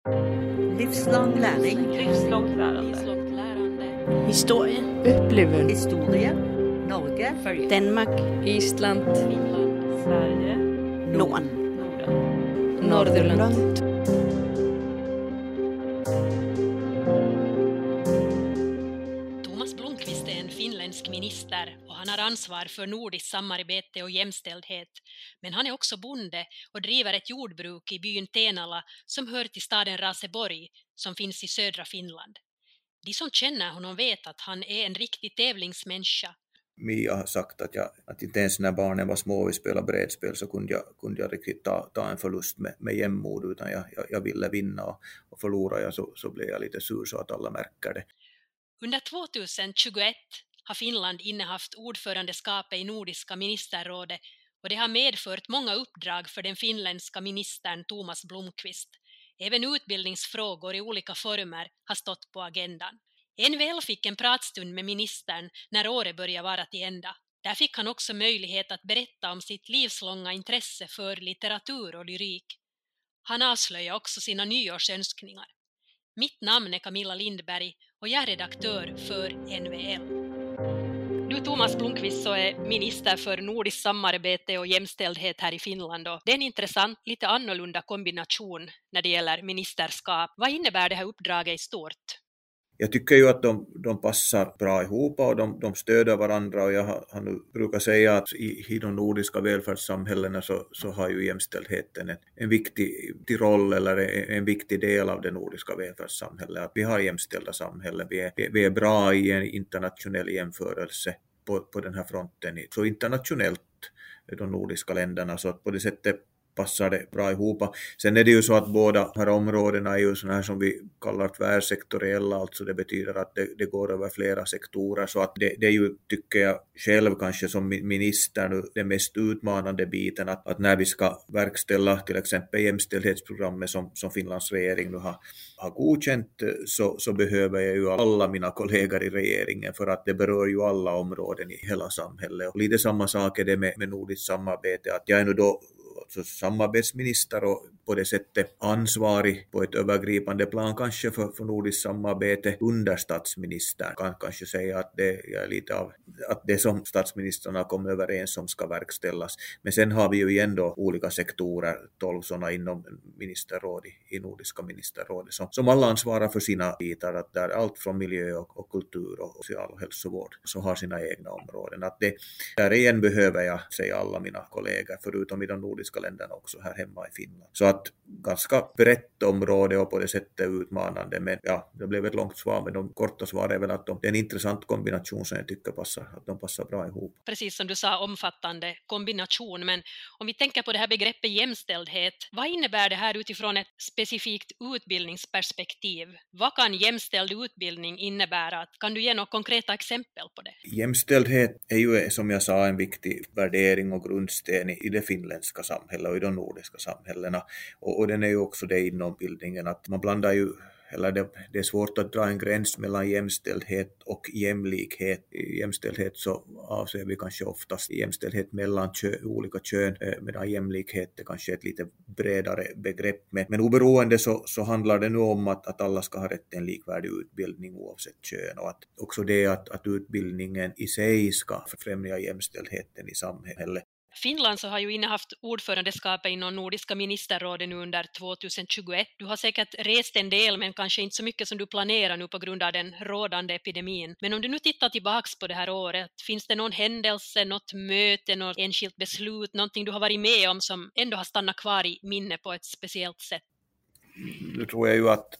Livslång läring. Livslångt lärande. Historie. Upplevelse. Historia. Norge. Följ. Danmark. Island. Finland. Sverige. Norden. Norden. Nordirland. Thomas Blomqvist är en finländsk minister och han har ansvar för nordiskt samarbete och jämställdhet. Men han är också bonde och driver ett jordbruk i byn Tenala som hör till staden Raseborg som finns i södra Finland. De som känner honom vet att han är en riktig tävlingsmänniska. Mia har sagt att inte ens när barnen var små och vi spelade brädspel så kunde jag riktigt ta en förlust med jämnmod, utan jag ville vinna, och förlorade jag så blev jag lite sur så att alla märker det. Under 2021 har Finland innehaft ordförandeskapet i Nordiska ministerrådet och det har medfört många uppdrag för den finländska ministern Thomas Blomqvist. Även utbildningsfrågor i olika former har stått på agendan. NVL fick en pratstund med ministern när året började vara till ända. Där fick han också möjlighet att berätta om sitt livslånga intresse för litteratur och lyrik. Han avslöjade också sina nyårsönskningar. Mitt namn är Camilla Lindberg och jag är redaktör för NVL. Du Thomas Blomqvist så är minister för nordiskt samarbete och jämställdhet här i Finland. Och det är en intressant, lite annorlunda kombination när det gäller ministerskap. Vad innebär det här uppdraget i stort? Jag tycker ju att de passar bra ihop och de stöder varandra, och jag har nu brukar säga att i de nordiska välfärdssamhällena så har ju jämställdheten en viktig roll eller en viktig del av det nordiska välfärdssamhället. Att vi har jämställda samhällen, vi är bra i en internationell jämförelse på den här fronten, så internationellt de nordiska länderna, så att på det sättet passar det bra ihop. Sen är det ju så att båda här områdena är ju såna här som vi kallar tvärsektoriella, alltså det betyder att det går över flera sektorer, så att det är ju, tycker jag själv kanske som minister nu, den mest utmanande biten, att när vi ska verkställa till exempel jämställdhetsprogrammet som Finlands regering nu har godkänt, så behöver jag ju alla mina kollegor i regeringen, för att det berör ju alla områden i hela samhället. Och lite samma sak är det med nordiskt samarbete, att jag är nu då alltså samarbetsminister och på det sättet ansvarig på ett övergripande plan kanske för nordiskt samarbete under statsministern. Kan kanske säga att det är lite av att det som statsministrarna kom överens om ska verkställas. Men sen har vi ju igen då olika sektorer, 12 sådana inom ministerrådet, i nordiska ministerrådet, som alla ansvarar för sina bitar, att där allt från miljö och kultur och social och hälsovård så har sina egna områden. Att det där igen behöver jag säga alla mina kollegor, förutom i de nordiska länderna också här hemma i Finland. Så att ganska brett område och på det sättet utmanande, men ja, det blev ett långt svar, men de korta svar är väl att det är en intressant kombination som jag tycker passar bra ihop. Precis som du sa, omfattande kombination, men om vi tänker på det här begreppet jämställdhet, vad innebär det här utifrån ett specifikt utbildningsperspektiv? Vad kan jämställd utbildning innebära? Kan du ge några konkreta exempel på det? Jämställdhet är ju, som jag sa, en viktig värdering och grundsten i det finländska samhället och i de nordiska samhällena. Och den är ju också det inom bildningen, att man blandar ju, eller det är svårt att dra en gräns mellan jämställdhet och jämlikhet. I jämställdhet så avser vi kanske oftast jämställdhet mellan olika kön, medan jämlikhet är kanske ett lite bredare begrepp. Men oberoende så handlar det nu om att alla ska ha rätt till en likvärdig utbildning oavsett kön, och att också det att utbildningen i sig ska främja jämställdheten i samhället. Finland så har ju innehaft ordförandeskapet inom Nordiska ministerrådet nu under 2021. Du har säkert rest en del, men kanske inte så mycket som du planerar nu på grund av den rådande epidemin. Men om du nu tittar tillbaks på det här året, finns det någon händelse, något möte, något enskilt beslut, någonting du har varit med om som ändå har stannat kvar i minne på ett speciellt sätt? Nu tror jag ju att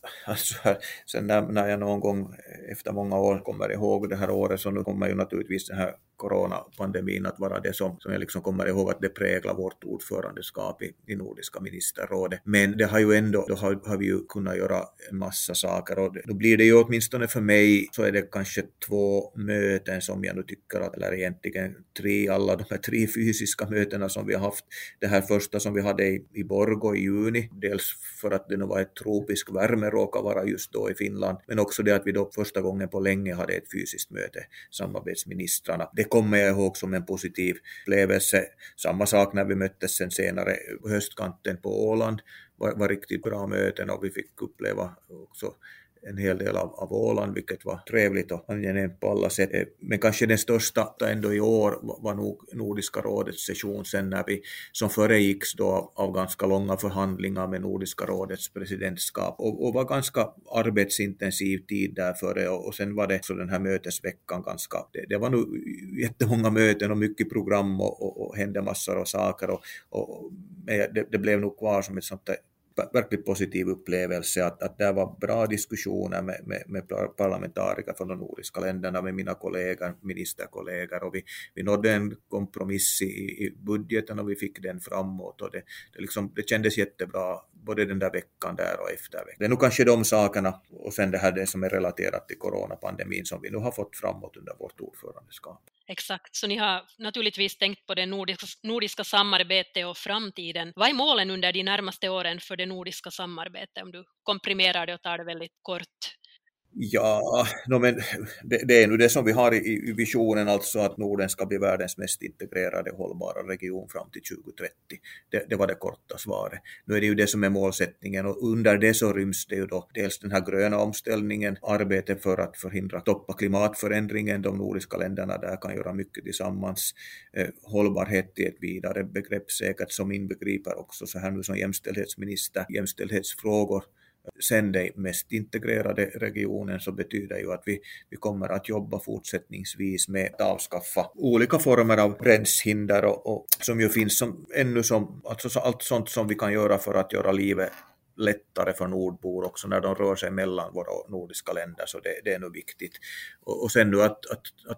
sen när jag någon gång efter många år kommer ihåg det här året, så nu kommer ju naturligtvis den här coronapandemin att vara det som jag liksom kommer ihåg att det präglar vårt ordförandeskap i Nordiska ministerrådet. Men det har ju ändå, då har vi ju kunnat göra en massa saker, och då blir det ju åtminstone för mig så är det kanske 2 möten som jag nu tycker att, eller egentligen 3, alla de här 3 fysiska mötena som vi har haft. Det här första som vi hade i Borgå i juni, dels för att det nu var ett tropisk värme råkar vara just då i Finland, men också det att vi då första gången på länge hade ett fysiskt möte, samarbetsministrarna. Det kommer jag ihåg som en positiv upplevelse. Samma sak när vi möttes sen senare på höstkanten på Åland. Var riktigt bra möten och vi fick uppleva också en hel del av Åland, vilket var trevligt och angenämt på alla sätt. Men kanske den största ändå i år var nog Nordiska rådets session sen när vi som föregicks då av ganska långa förhandlingar med Nordiska rådets presidentskap och var ganska arbetsintensiv tid där före och sen var det så den här mötesveckan ganska, det var nog jättemånga möten och mycket program och hände massor av saker och det blev nog kvar som ett sånt där verkligt positiv upplevelse att det var bra diskussioner med parlamentariker från de nordiska länderna, med mina kollegor, ministerkollegor och vi nådde en kompromiss i budgeten och vi fick den framåt och det kändes jättebra både den där veckan där och efter veckan. Det är nog kanske de sakerna och sen det här det som är relaterat till coronapandemin som vi nu har fått framåt under vårt ordförandeskap. Exakt, så ni har naturligtvis tänkt på det nordiska samarbetet och framtiden. Vad är målen under de närmaste åren för det nordiska samarbetet om du komprimerar det och tar det väldigt kort? Ja, men det är nu det som vi har i visionen, alltså att Norden ska bli världens mest integrerade hållbara region fram till 2030. Det var det korta svaret. Nu är det ju det som är målsättningen och under det så ryms det ju då dels den här gröna omställningen, arbetet för att förhindra toppa klimatförändringen. De nordiska länderna där kan göra mycket tillsammans. Hållbarhet i ett vidare begrepp säkert som inbegriper också så här nu som jämställdhetsminister, jämställdhetsfrågor. Sen den mest integrerade regionen så betyder ju att vi kommer att jobba fortsättningsvis med att avskaffa olika former av gränshinder och som ju finns alltså allt sånt som vi kan göra för att göra livet lättare för nordbor också när de rör sig mellan våra nordiska länder, så det är nog viktigt. Och sen nu att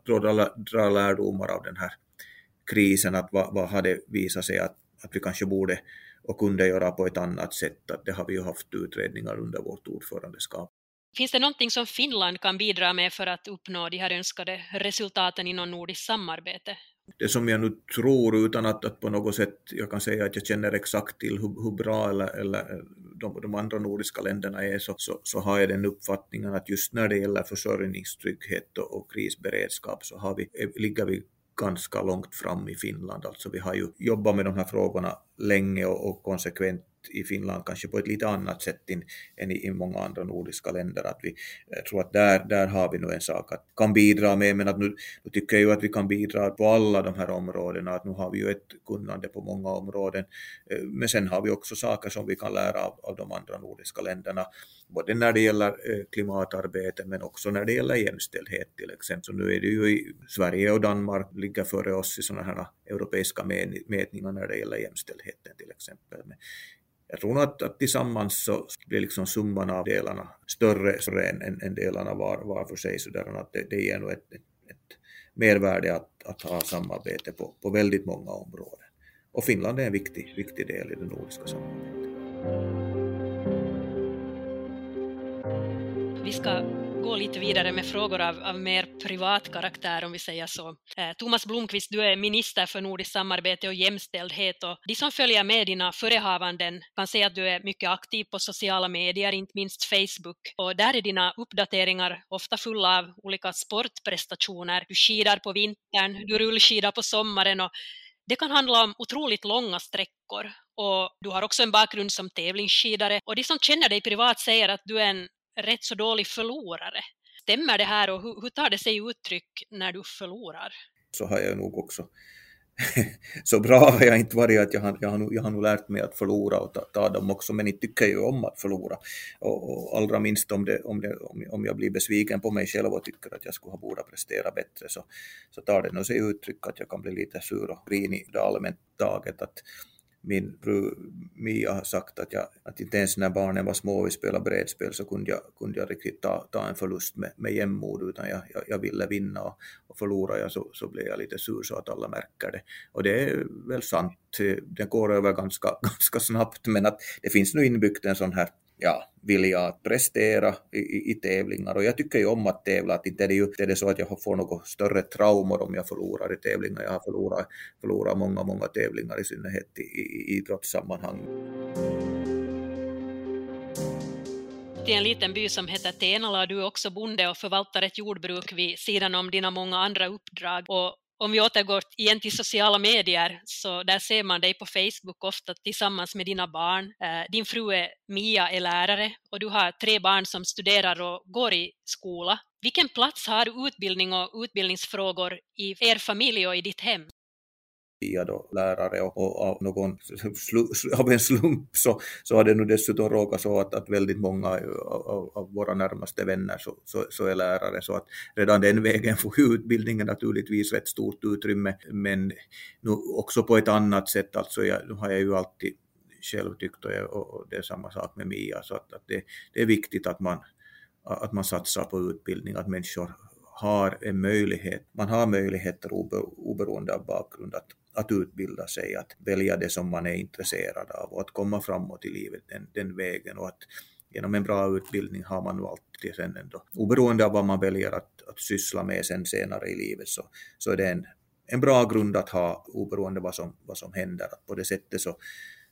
dra lärdomar av den här krisen, att vad hade visat sig att vi kanske borde och kunde göra på ett annat sätt. Att det har vi ju haft utredningar under vårt ordförandeskap. Finns det någonting som Finland kan bidra med för att uppnå de här önskade resultaten inom nordiskt samarbete? Det som jag nu tror, utan att på något sätt jag kan säga att jag känner exakt till hur bra eller de andra nordiska länderna är, så har jag den uppfattningen att just när det gäller försörjningstrygghet och krisberedskap så ligger vi ganska långt fram i Finland. Alltså vi har ju jobbat med de här frågorna länge och konsekvent i Finland, kanske på ett lite annat sätt än i många andra nordiska länder. Jag tror att där har vi nog en sak att kan bidra med, men att nu tycker jag ju att vi kan bidra på alla de här områdena, att nu har vi ju ett kunnande på många områden, men sen har vi också saker som vi kan lära av de andra nordiska länderna, både när det gäller klimatarbete men också när det gäller jämställdhet till exempel. Så nu är det ju i Sverige och Danmark ligger före oss i sådana här europeiska mätningar när det gäller jämställdheten till exempel. Men jag tror att tillsammans så blir liksom summan av delarna större än delarna var för sig, så där att det ger nog ett mervärde att ha samarbete på väldigt många områden. Och Finland är en viktig del i det nordiska samarbetet. Vi ska gå lite vidare med frågor av mer privat karaktär, om vi säger så. Thomas Blomqvist, du är minister för nordiskt samarbete och jämställdhet, och de som följer med dina förehavanden kan se att du är mycket aktiv på sociala medier, inte minst Facebook. Och där är dina uppdateringar ofta fulla av olika sportprestationer. Du skidar på vintern, du rullskidar på sommaren, och det kan handla om otroligt långa sträckor. Och du har också en bakgrund som tävlingsskidare, och de som känner dig privat säger att du är en rätt så dålig förlorare. Stämmer det här, och hur tar det sig uttryck när du förlorar? Så har jag nog också. Så bra har jag inte varit att jag har nog lärt mig att förlora och ta dem också, men inte tycker jag om att förlora. Och allra minst om jag blir besviken på mig själv och tycker att jag skulle ha borde prestera bättre, så tar det nog sig uttryck att jag kan bli lite sur och grinig i det allmänt taget. Att min fru Mia har sagt att inte ens när barnen var små och vi spelade brädspel så kunde jag riktigt ta en förlust med jämnmod, utan jag ville vinna, och förlorar jag så blev jag lite sur så att alla märker det. Och det är väl sant, det går över ganska snabbt, men att det finns nu inbyggt en sån här vilja att prestera i tävlingar, och jag tycker ju om att tävla, att inte är det så att jag får något större traumor om jag förlorar i tävlingar. Jag har förlorat många tävlingar, i synnerhet i idrottssammanhang. I en liten by som heter Tenala, du är också bonde och förvaltar ett jordbruk vid sidan om dina många andra uppdrag, och Om vi återgår igen till sociala medier, så där ser man dig på Facebook ofta tillsammans med dina barn. Din fru Mia är lärare och du har 3 barn som studerar och går i skola. Vilken plats har utbildning och utbildningsfrågor i er familj och i ditt hem? Mia då lärare och av en slump så har det nu dessutom råkat så att väldigt många av våra närmaste vänner så är lärare, så att redan den vägen får utbildningen naturligtvis rätt stort utrymme, men nu också på ett annat sätt. Alltså nu har jag ju alltid själv tyckt, och det är samma sak med Mia, så att det är viktigt att man satsar på utbildning, att människor har en möjlighet, man har möjligheter oberoende av bakgrund att utbilda sig, att välja det som man är intresserad av och att komma framåt i livet den vägen, och att genom en bra utbildning har man nu alltid sen ändå, oberoende av vad man väljer att syssla med sen senare i livet, så är det en bra grund att ha oberoende vad som händer. Att på det sättet så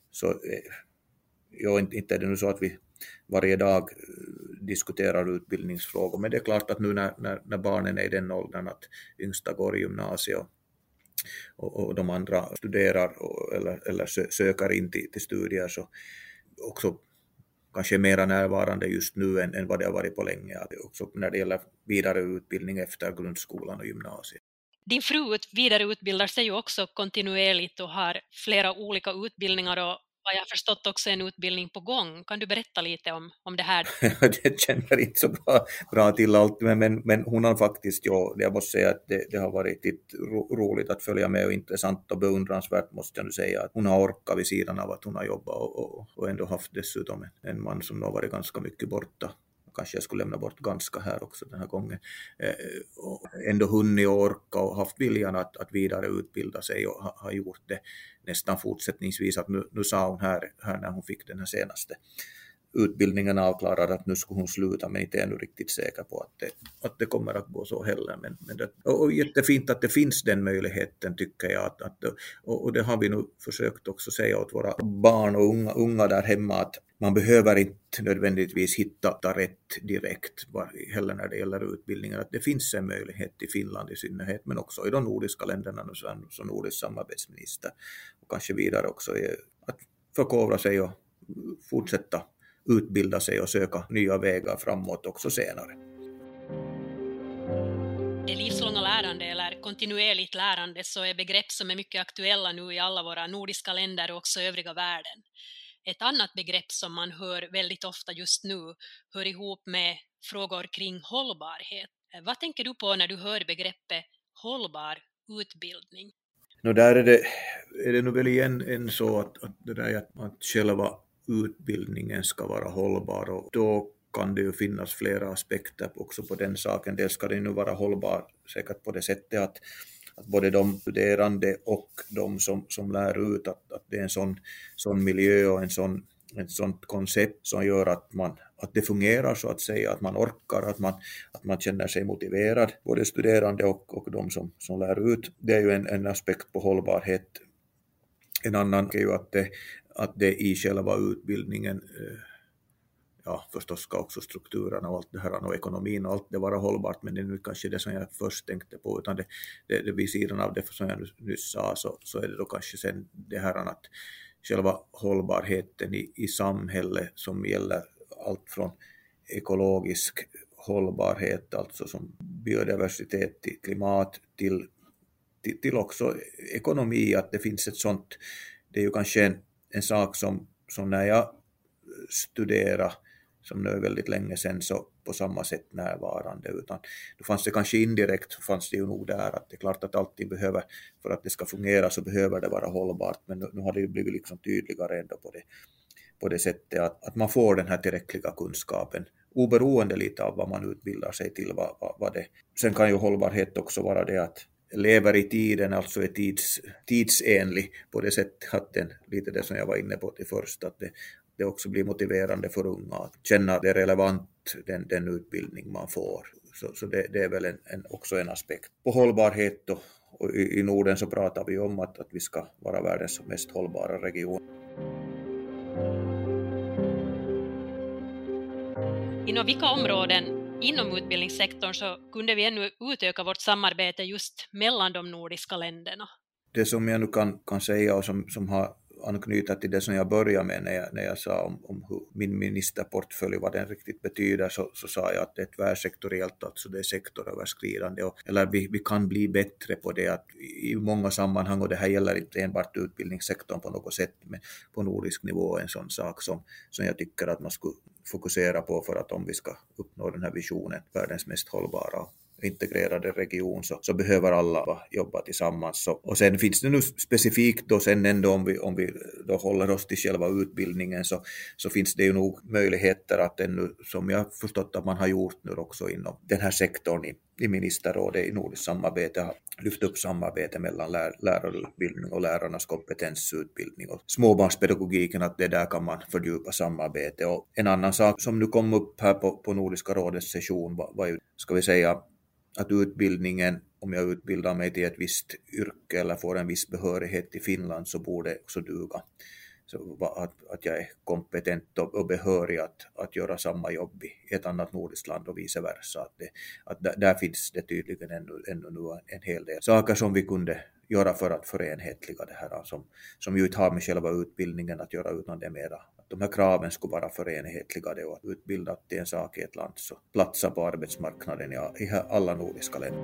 inte är det nu så att vi varje dag diskuterar utbildningsfrågor, men det är klart att nu när barnen är i den åldern att yngsta går i gymnasiet och de andra studerar eller söker in till studier, så också kanske mera närvarande just nu än vad det har varit på länge, också när det gäller vidare utbildning efter grundskolan och gymnasiet. Din fru vidareutbildar sig ju också kontinuerligt och har flera olika utbildningar och vad jag har förstått också en utbildning på gång. Kan du berätta lite om det här? Jag känner inte så bra till allt, men hon har faktiskt, jag måste säga att det har varit roligt att följa med och intressant och beundransvärt, måste jag nu säga, att hon har orkat vid sidan av att hon har jobbat och ändå haft dessutom en man som har varit ganska mycket borta. Kanske jag skulle lämna bort ganska här också den här gången. Och ändå hunnit orka och haft viljan att vidare utbilda sig och har gjort det nästan fortsättningsvis. Att nu sa hon här när hon fick den här senaste utbildningen avklarad att nu skulle hon sluta, men inte är nu riktigt säker på att det kommer att gå så heller. Men och jättefint att det finns den möjligheten, tycker jag. Och det har vi nu försökt också säga åt våra barn och unga där hemma, att man behöver inte nödvändigtvis hitta rätt direkt heller när det gäller utbildningen. Att det finns en möjlighet i Finland i synnerhet, men också i de nordiska länderna som nordisk samarbetsminister. Och kanske vidare också att förkovra sig och fortsätta utbilda sig och söka nya vägar framåt också senare. Det livslånga lärande eller kontinuerligt lärande så är begrepp som är mycket aktuella nu i alla våra nordiska länder och också övriga världen. Ett annat begrepp som man hör väldigt ofta just nu hör ihop med frågor kring hållbarhet. Vad tänker du på när du hör begreppet hållbar utbildning? Där är det nog väl igen en så att det där att själva utbildningen ska vara hållbar, och då kan det ju finnas flera aspekter också på den saken. Dels ska det nu vara hållbar säkert på det sättet att både de studerande och de som lär ut att det är en sån miljö och ett sånt koncept som gör att det fungerar, så att säga, att man orkar, att man känner sig motiverad, både studerande och de som lär ut. Det är ju en aspekt på hållbarhet. En annan är ju att det i själva utbildningen, förstås ska också strukturerna och allt det här och ekonomin och allt det vara hållbart, men det är nu kanske det som jag först tänkte på, utan det vid sidan av det som jag nyss sa, så är det då kanske sen det här att själva hållbarheten i samhället som gäller allt från ekologisk hållbarhet, alltså som biodiversitet, till klimat, till också ekonomi, att det finns ett sånt. Det är ju kanske en sak som när jag studerade, som nu är väldigt länge sedan, så på samma sätt närvarande, utan då fanns det kanske indirekt, fanns det ju nog där att det är klart att allting behöver, för att det ska fungera så behöver det vara hållbart, men nu har det ju blivit liksom tydligare ändå på det sättet att man får den här tillräckliga kunskapen oberoende lite av vad man utbildar sig till, vad det. Sen kan ju hållbarhet också vara det att lever i tiden, alltså är tidsenlig på det sättet att den, lite det som jag var inne på till först, att det också blir motiverande för unga att känna att det är relevant, den utbildning man får. Så det är väl också en aspekt på hållbarhet, och i Norden så pratar vi om att vi ska vara världens mest hållbara region. Inom vilka områden inom utbildningssektorn så kunde vi ännu utöka vårt samarbete just mellan de nordiska länderna. Det som jag nu kan säga och som har anknyta till det som jag började med när jag sa om hur min ministerportfölj, vad den riktigt betyder, så sa jag att det är tvärsektoriellt, alltså det är sektoröverskridande. Eller vi kan bli bättre på det att i många sammanhang, och det här gäller inte enbart utbildningssektorn på något sätt, men på nordisk nivå en sån sak som jag tycker att man skulle fokusera på för att om vi ska uppnå den här visionen, världens mest hållbara integrerade region, så behöver alla jobba tillsammans. Och sen finns det nu specifikt då sen ändå om vi då håller oss till själva utbildningen så finns det ju nog möjligheter att ännu, som jag förstått att man har gjort nu också inom den här sektorn i ministerrådet i nordiskt samarbete, har lyft upp samarbete mellan lärarutbildning och lärarnas kompetensutbildning och småbarnspedagogiken, att det där kan man fördjupa samarbete. Och en annan sak som nu kom upp här på Nordiska rådets session var ju, ska vi säga, att utbildningen, om jag utbildar mig till ett visst yrke eller får en viss behörighet i Finland, så borde också duga. Så att jag är kompetent och behörig att göra samma jobb i ett annat nordiskt land och vice versa. Att där finns det tydligen ännu nu en hel del saker som vi kunde göra för att förenhetliga det här, som ju inte har med själva utbildningen att göra, utan det är mera att de här kraven skulle vara förenhetligade och att utbilda till en sak i ett land så platsa på arbetsmarknaden i alla nordiska länder.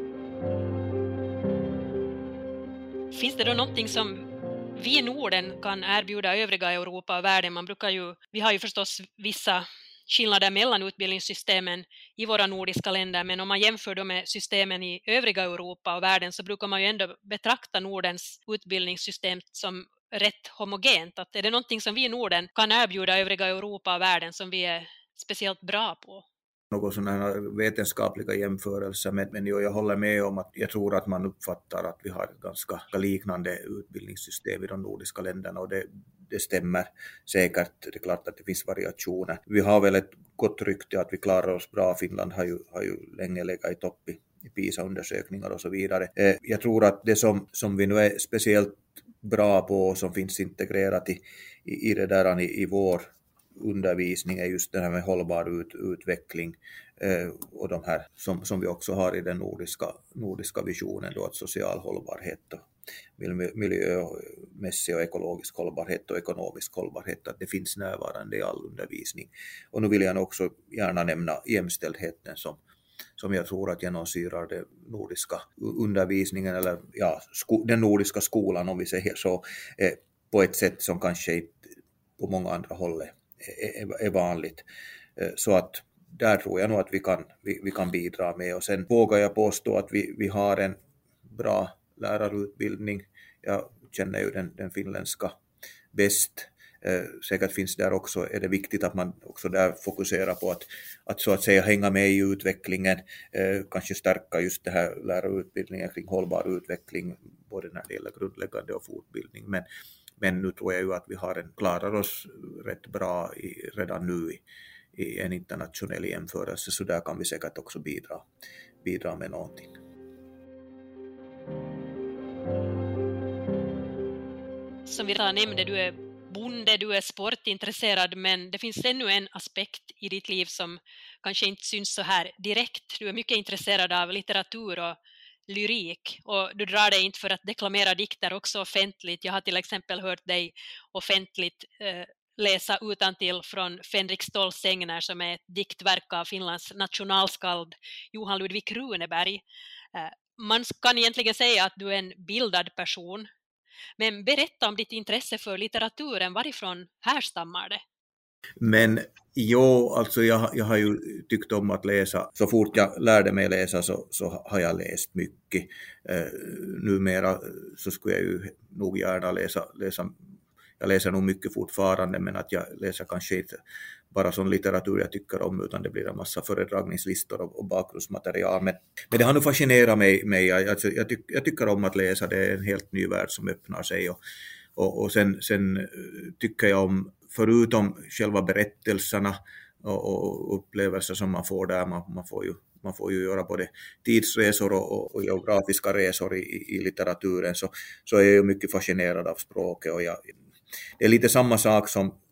Finns det då någonting som vi i Norden kan erbjuda övriga Europa och världen? Vi har ju förstås vissa skillnader mellan utbildningssystemen i våra nordiska länder, men om man jämför dem med systemen i övriga Europa och världen så brukar man ju ändå betrakta Nordens utbildningssystem som rätt homogent. Att är det någonting som vi i Norden kan erbjuda övriga Europa och världen som vi är speciellt bra på? Någon sån här vetenskapliga jämförelser, men jag håller med om att jag tror att man uppfattar att vi har ett ganska liknande utbildningssystem i de nordiska länderna, och det stämmer säkert. Det är klart att det finns variationer. Vi har väl ett gott rykte att vi klarar oss bra. Finland har ju länge legat i topp i PISA-undersökningar och så vidare. Jag tror att det som vi nu är speciellt bra på, som finns integrerat i det där i vår undervisning, är just det här med hållbar utveckling och de här som vi också har i den nordiska visionen då, att social hållbarhet och miljömässig och ekologisk hållbarhet och ekonomisk hållbarhet, att det finns närvarande i all undervisning. Och nu vill jag också gärna nämna jämställdheten som jag tror att genomsyrar den nordiska undervisningen, eller den nordiska skolan, om vi säger så, på ett sätt som kanske på många andra håll är vanligt. Så att där tror jag nog att vi kan bidra med. Och sen vågar jag påstå att vi har en bra lärarutbildning. Jag känner ju den finländska bäst. Säkert finns där också, är det viktigt att man också där fokuserar på att så att säga hänga med i utvecklingen, kanske stärka just det här lärarutbildningen kring hållbar utveckling, både när det gäller grundläggande och fortbildning. Men nu tror jag ju att vi klarar oss rätt bra redan nu i en internationell jämförelse, så där kan vi säkert också bidra med någonting. Som vi redan nämnde, du är bonde, du är sportintresserad, men det finns ännu en aspekt i ditt liv som kanske inte syns så här direkt. Du är mycket intresserad av litteratur och lyrik, och du drar dig inte för att deklamera dikter också offentligt. Jag har till exempel hört dig offentligt läsa utantill från Fänrik Ståls sägner, som är ett diktverk av Finlands nationalskald Johan Ludvig Runeberg. Man kan egentligen säga att du är en bildad person. Men berätta om ditt intresse för litteraturen, varifrån härstammar det? Men alltså jag har ju tyckt om att läsa. Så fort jag lärde mig läsa så har jag läst mycket. Numera så skulle jag ju nog gärna läsa. Jag läser nog mycket fortfarande, men att jag läser kanske inte bara sån litteratur jag tycker om, utan det blir en massa föredragningslistor och bakgrundsmaterial. Men det har nog fascinerat mig. Alltså, jag tycker om att läsa, det är en helt ny värld som öppnar sig. Och sen tycker jag om, förutom själva berättelserna och upplevelser som man får där, man får ju göra både tidsresor och geografiska resor i litteraturen, så är jag mycket fascinerad av språket. Och det är lite samma sak som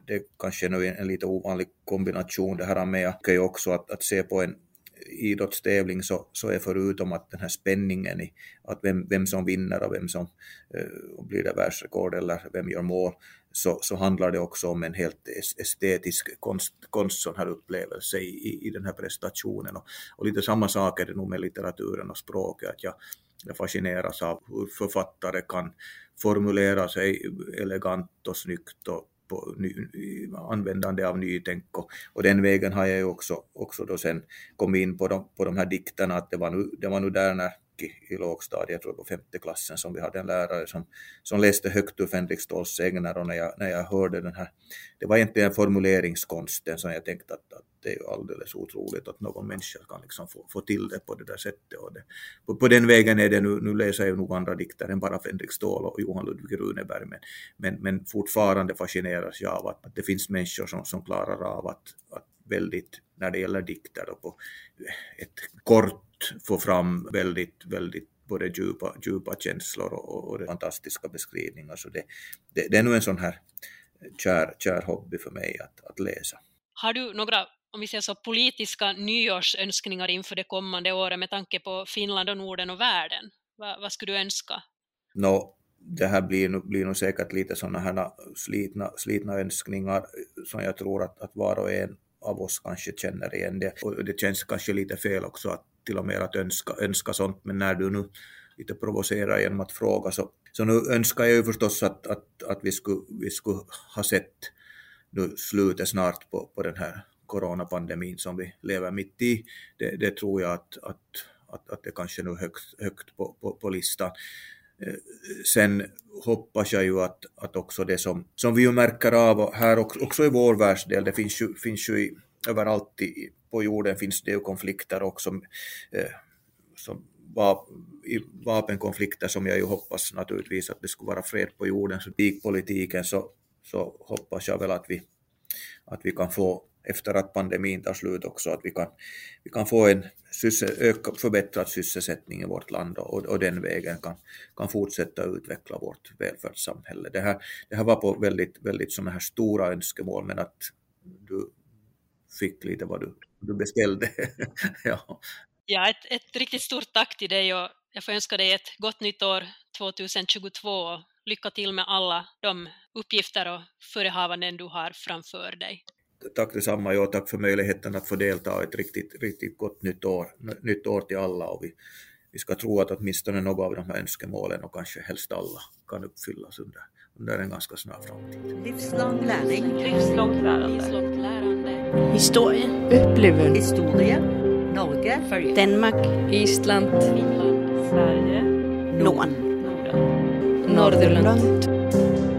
det kanske är nu en lite ovanlig kombination det här med. Jag kan ju också att se på en idrottstävling så är förutom att den här spänningen i att vem som vinner och vem som blir det världsrekord eller vem gör mål, så handlar det också om en helt estetisk konst sån här upplevelse i den här prestationen. Och lite samma sak är det nog med litteraturen och språket, att jag fascineras av hur författare kan formulera sig elegant och snyggt och på användande av nytänk, och den vägen har jag ju också då sen kommit in på de här dikterna, att det var nu där när i lågstadiet, jag tror på 5:e klassen, som vi hade en lärare som läste högt ur Fänrik Ståls sägner, och när jag hörde den här, det var egentligen formuleringskonsten som jag tänkte att det är ju alldeles otroligt att någon människa kan liksom få till det på det där sättet, och på den vägen är det nu läser jag nog andra dikter än bara Fänrik Stål och Johan Ludvig Runeberg, men fortfarande fascineras jag av att det finns människor som klarar av att väldigt, när det gäller dikter och på ett kort få fram väldigt både djupa känslor och fantastiska beskrivningar. Så det är nog en sån här kär hobby för mig att läsa. Har du några, om vi säger så, politiska nyårsönskningar inför det kommande året med tanke på Finland och Norden och världen? Vad skulle du önska? Det här blir nog säkert lite sådana här slitna önskningar som jag tror att var och en av oss kanske känner igen det. Och det känns kanske lite fel också att till och med att önska sånt, men när du nu lite provocerar genom att fråga, så nu önskar jag ju förstås att vi skulle ha sett nu slutet snart på den här coronapandemin som vi lever mitt i. Det tror jag att det kanske nu högt på listan. Sen hoppas jag ju att också det som vi ju märker av här också i vår världsdel, det finns ju överallt på jorden finns det ju konflikter också, som vapenkonflikter, som jag ju hoppas naturligtvis att det skulle vara fred på jorden. Så i politiken så hoppas jag väl att vi kan få, efter att pandemin tar slut också, att vi kan få en förbättrad sysselsättning i vårt land, och den vägen kan fortsätta utveckla vårt välfärdssamhälle. Det här var på väldigt, väldigt sådana här stora önskemål, men att du fick lite vad du beställde. Ja, ett riktigt stort tack till dig, och jag får önska dig ett gott nytt år 2022 och lycka till med alla de uppgifter och förehavanden du har framför dig. Tack detsamma, och tack för möjligheten att få delta i ett riktigt gott nytt år till alla, och vi ska tro att åtminstone några av de här önskemålen, och kanske helst alla, kan uppfyllas under en ganska snar framtid. Livslång lärning. Livslångt lärande. Historie. Upplevelser. Historia. Norge. Danmark. Island. Finland. Sverige. Norden. Norden. Nordirland.